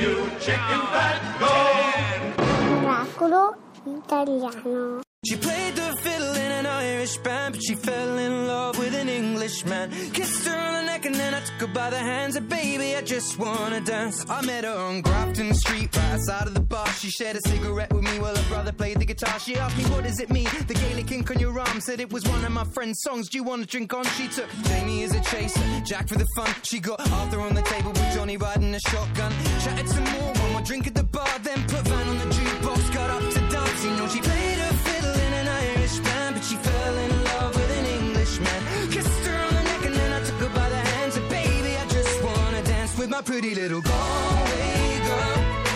you chicken fat, go! Oracolo italiano. She played the fiddle in an Irish band, but she fell in love with an Englishman. Kissed her on the neck and then I took her by the hands. And baby, I just wanna dance. I met her on Grafton Street, right outside of the bar. She shared a cigarette with me while her brother played the guitar. She asked me, what does it mean? The Gaelic ink on your arm. Said it was one of my friend's songs. Do you want to drink on? She took Jamie as a chaser, Jack for the fun. She got Arthur on the table with Johnny riding a shotgun. Chatted some more, one more drink at the bar. Then put Van on the jukebox, got up to dance. You know she played her fiddle in an Irish band, but she fell in love with an Englishman. Kissed her on the neck and then I took her by the hands. And baby, I just wanna dance with my pretty little Galway girl.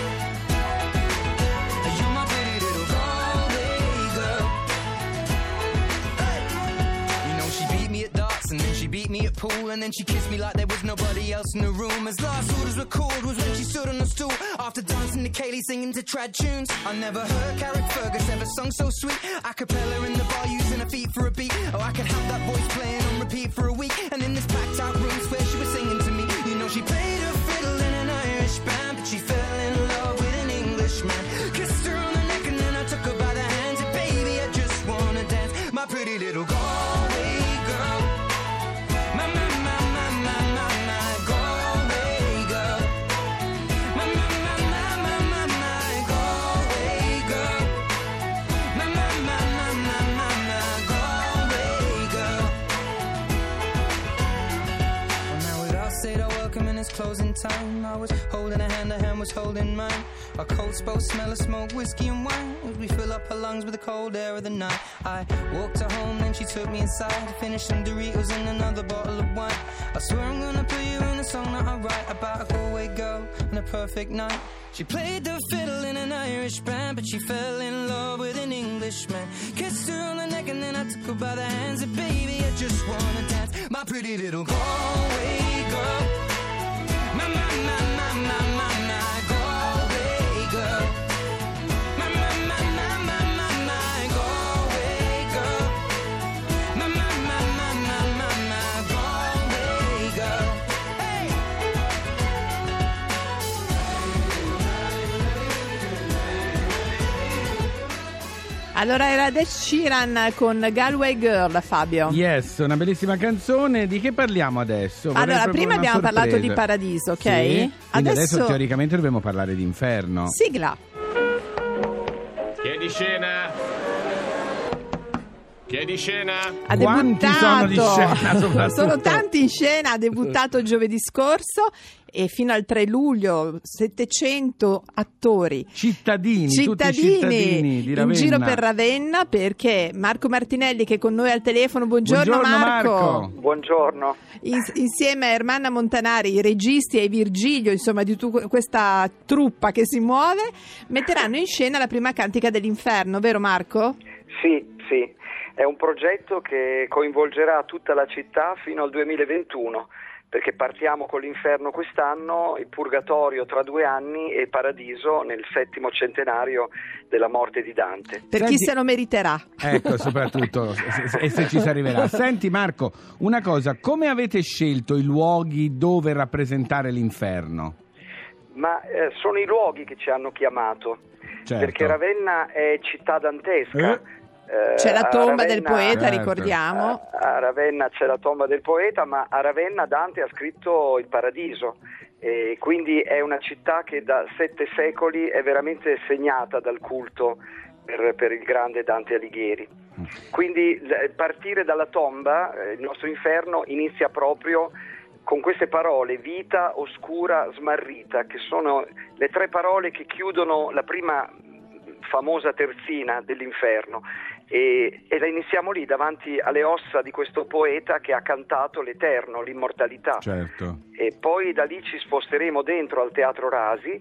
You're my pretty little Galway girl. Hey. You know she beat me at darts and then she beat me at pool, and then she kissed me like there was nobody else in the room. As last orders were called was when she stood on the stool after dancing to Kaylee singing to trad tunes. I never heard Carrick Fergus ever sung so sweet. A cappella in the bar using her feet for a beat. Oh, I could have that voice playing on repeat for a week. And in this packed out room where she was singing to me. You know she played her fiddle in an Irish band, but she fell in love with an Englishman. Kissed her on the neck and then I took her by the hands. And baby, I just wanna dance, my pretty little Galway girl. My Galway girl. My Galway girl. My Galway girl. Well, now we'd all said our welcome and it's closing time. I was holding her hand was holding mine. Our coats both smell of smoke, whiskey and wine, as we fill up her lungs with the cold air of the night. I walked her home, then she took me inside to finish some Doritos and another bottle of wine. I swear I'm gonna put you in a song that I write about a Galway girl and a perfect night. She played the fiddle in an Irish band, but she fell in love with an Englishman. Kissed her on the neck and then I took her by the hands. And baby, I just wanna dance, my pretty little Galway girl. My Galway girl. My Galway girl. My Galway girl. Hey! Allora era Ed Sheeran con Galway Girl, Fabio. Yes, una bellissima canzone. Di che parliamo adesso? Allora, prima abbiamo parlato di Paradiso, ok? Sì? Adesso teoricamente dobbiamo parlare di Inferno. Sigla. Chiedi scena. Chiedi scena. Ha Quanti debuttato, sono di scena, soprattutto? Sono tanti in scena, ha debuttato giovedì scorso e fino al 3 luglio 700 attori Tutti cittadini di Ravenna. in giro per Ravenna, perché Marco Martinelli, che è con noi al telefono, buongiorno Marco. Buongiorno. Insieme a Ermanna Montanari, i registi, e i Virgilio, insomma di tutta questa truppa che si muove, metteranno in scena la prima cantica dell'Inferno, vero Marco? Sì. È un progetto che coinvolgerà tutta la città fino al 2021, perché partiamo con l'Inferno quest'anno, il Purgatorio tra 2 anni e Paradiso nel 7° centenario della morte di Dante. Per chi se lo meriterà. Ecco, soprattutto, e se ci si arriverà. Senti Marco, una cosa, come avete scelto i luoghi dove rappresentare l'Inferno? Ma sono i luoghi che ci hanno chiamato, Certo. perché Ravenna è città dantesca. C'è la tomba del poeta, certo. ricordiamo. A Ravenna c'è la tomba del poeta, ma a Ravenna Dante ha scritto il Paradiso, e quindi è una città che da 7 secoli è veramente segnata dal culto per il grande Dante Alighieri. Quindi partire dalla tomba, il nostro Inferno inizia proprio con queste parole: vita oscura smarrita, che sono le 3 parole che chiudono la prima famosa terzina dell'Inferno, e la iniziamo lì davanti alle ossa di questo poeta che ha cantato l'eterno, l'immortalità. Certo. E poi da lì ci sposteremo dentro al Teatro Rasi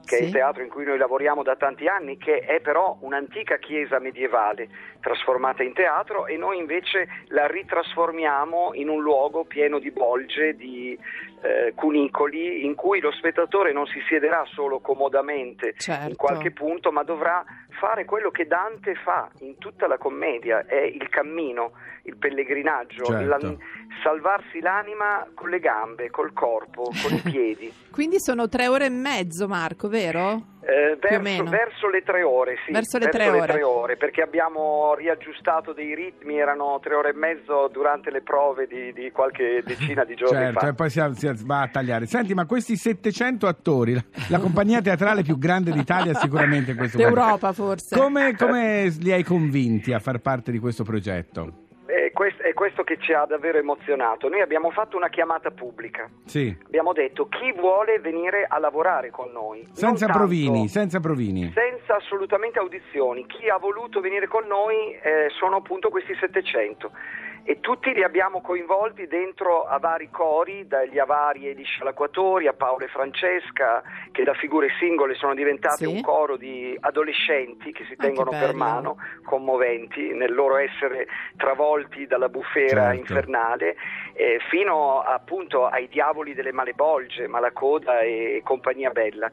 che è Sì. il teatro in cui noi lavoriamo da tanti anni, che è però un'antica chiesa medievale trasformata in teatro, e noi invece la ritrasformiamo in un luogo pieno di bolge, di cunicoli, in cui lo spettatore non si siederà solo comodamente Certo. in qualche punto, ma dovrà fare quello che Dante fa in tutta la commedia, è il cammino, il pellegrinaggio, Certo. salvarsi l'anima con le gambe, col corpo, con i piedi. Quindi sono 3 ore e mezzo, Marco, vero? Più o meno. Verso le 3 ore, sì. Verso le 3 ore. 3 ore, perché abbiamo riaggiustato dei ritmi, erano 3 ore e mezzo durante le prove di qualche decina di giorni Certo, fa. e poi si va a tagliare. Senti, ma questi 700 attori, la compagnia teatrale più grande d'Italia sicuramente in questo momento. D'Europa forse. Come li hai convinti a far parte di questo progetto? È questo che ci ha davvero emozionato. Noi abbiamo fatto una chiamata pubblica. Sì. Abbiamo detto: chi vuole venire a lavorare con noi? Senza Non tanto- provini, senza provini. senza assolutamente audizioni. Chi ha voluto venire con noi sono appunto questi 700, e tutti li abbiamo coinvolti dentro a vari cori, dagli Avari e gli Scialacquatori a Paolo e Francesca, che da figure singole sono diventate Sì. un coro di adolescenti che si tengono che per bello. mano, commoventi nel loro essere travolti dalla bufera Certo. infernale, fino appunto ai diavoli delle Malebolge, Malacoda e compagnia bella.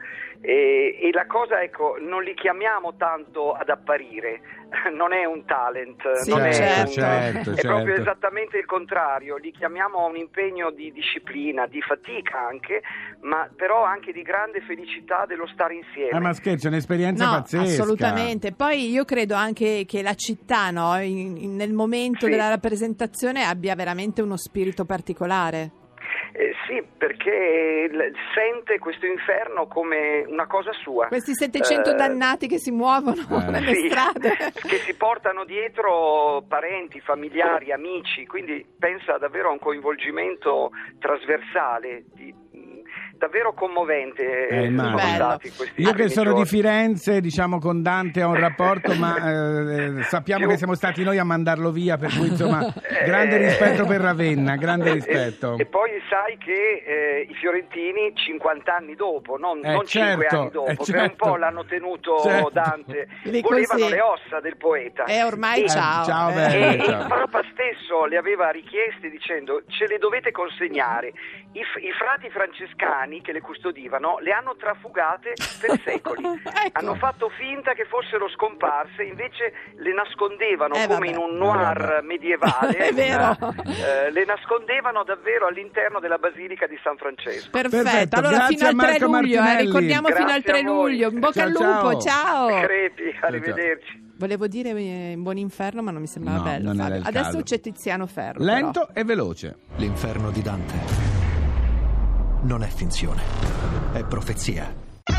E la cosa, ecco, non li chiamiamo tanto ad apparire, non è un talent, Sì, non certo. è proprio esattamente il contrario, li chiamiamo a un impegno di disciplina, di fatica anche, ma però anche di grande felicità dello stare insieme. Ma scherzo, è un'esperienza No, pazzesca. assolutamente. Poi io credo anche che la città, no, nel momento Sì. della rappresentazione abbia veramente uno spirito particolare. Sì, perché sente questo inferno come una cosa sua. Questi 700 dannati che si muovono nelle Sì, strade. che si portano dietro parenti, familiari, amici, quindi pensa davvero a un coinvolgimento trasversale, davvero commovente. Immagino. Sono stati questi Io che primi sono giorni. di Firenze, diciamo, con Dante ho un rapporto, ma sappiamo che siamo stati noi a mandarlo via, per cui insomma grande rispetto per Ravenna, grande rispetto. E poi sai che i fiorentini 50 anni dopo, non 5 certo, anni dopo, per un certo. po' l'hanno tenuto Certo. Dante, Lì volevano così. le ossa del poeta. E ormai E- ciao. ciao, Eh. bello. E il Papa stesso le aveva richieste dicendo: ce le dovete consegnare. I frati francescani che le custodivano le hanno trafugate per secoli. Ecco. Hanno fatto finta che fossero scomparse, invece le nascondevano come vabbè. in un noir medievale. È vero. Le nascondevano davvero all'interno della Basilica di San Francesco. Perfetto, allora grazie fino al a 3 Marco luglio, Martinelli. ricordiamo fino al Grazie 3 a voi. luglio. In bocca Ciao, al lupo, ciao. ciao. Crepi, arrivederci. Volevo dire in buon inferno, ma non mi sembrava No, bello. non era Fabio. il Adesso caso. c'è Tiziano Ferro. Lento e veloce. L'inferno di Dante non è finzione, è profezia.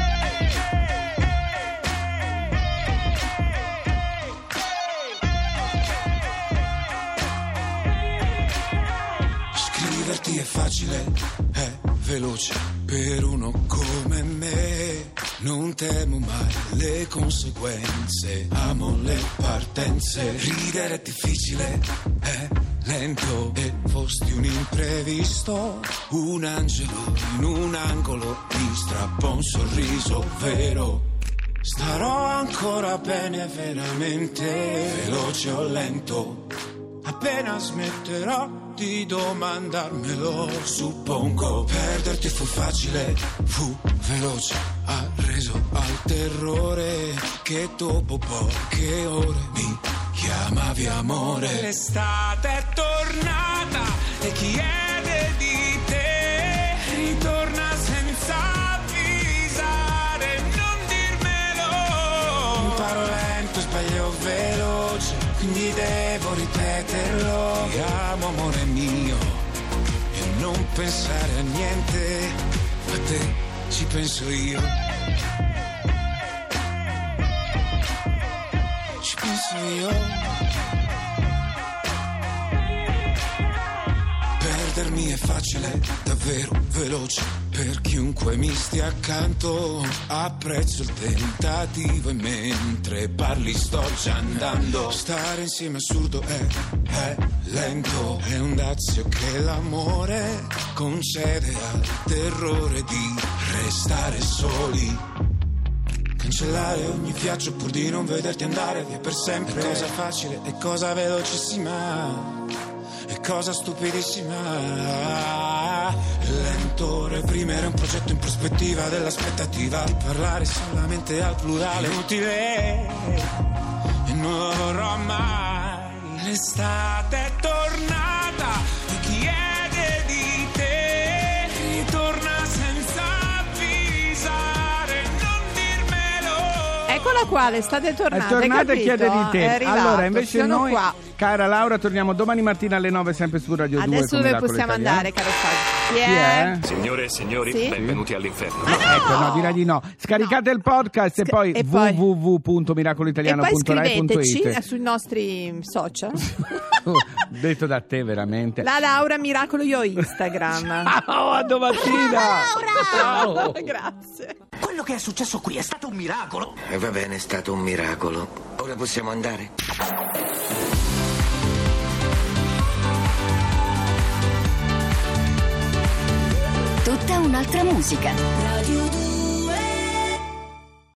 Scriverti è facile, è veloce per uno come me. Non temo mai le conseguenze, amo le partenze. Ridere è difficile, è lento e fosti un imprevisto. Un angelo in un angolo mi strappa un sorriso vero. Starò ancora bene veramente, veloce o lento. Appena smetterò di domandarmelo, suppongo. Perderti fu facile, fu veloce, ha reso al terrore che dopo poche ore mi chiamavi amore. L'estate è tornata e chiede di te, ritorna senza avvisare, non dirmelo. Imparo lento, sbaglio veloce, quindi devo ripeterlo. Ti amo amore mio e non pensare a niente, a te ci penso io. Ci penso io. Perdermi è facile, davvero veloce, per chiunque mi stia accanto. Apprezzo il tentativo e mentre parli sto già andando. Stare insieme è assurdo, è lento, è un dazio che l'amore concede al terrore di restare soli. cancellare ogni viaggio pur di non vederti andare via per sempre. È cosa facile, è cosa velocissima, è cosa stupidissima. È lento reprimere un progetto in prospettiva dell'aspettativa di parlare solamente al plurale. Inutile e non lo vorrò mai. L'estate è tornata e chiede di te, ritorna senza avvisare, non dirmelo. Eccola qua, l'estate tornata. È tornata e chiede di te. È arrivato, Allora, invece sono noi, qua. cara Laura, torniamo domani mattina alle 9 sempre su Radio 2. Adesso con dove Miracolo possiamo Italiano. andare, caro Fabio? Chi Chi è? è? Signore e signori, Sì? benvenuti all'inferno. Ecco, no, direi di no. Scaricate il podcast e poi e poi- www.miracoloitaliano.rai.it. scriveteci sui nostri social. Detto da te veramente. La Laura Miracolo io Instagram. Ciao, a domattina. Ciao. Grazie. Quello che è successo qui è stato un miracolo. E va bene, è stato un miracolo. Ora possiamo andare? Tutta un'altra musica. Radio 2.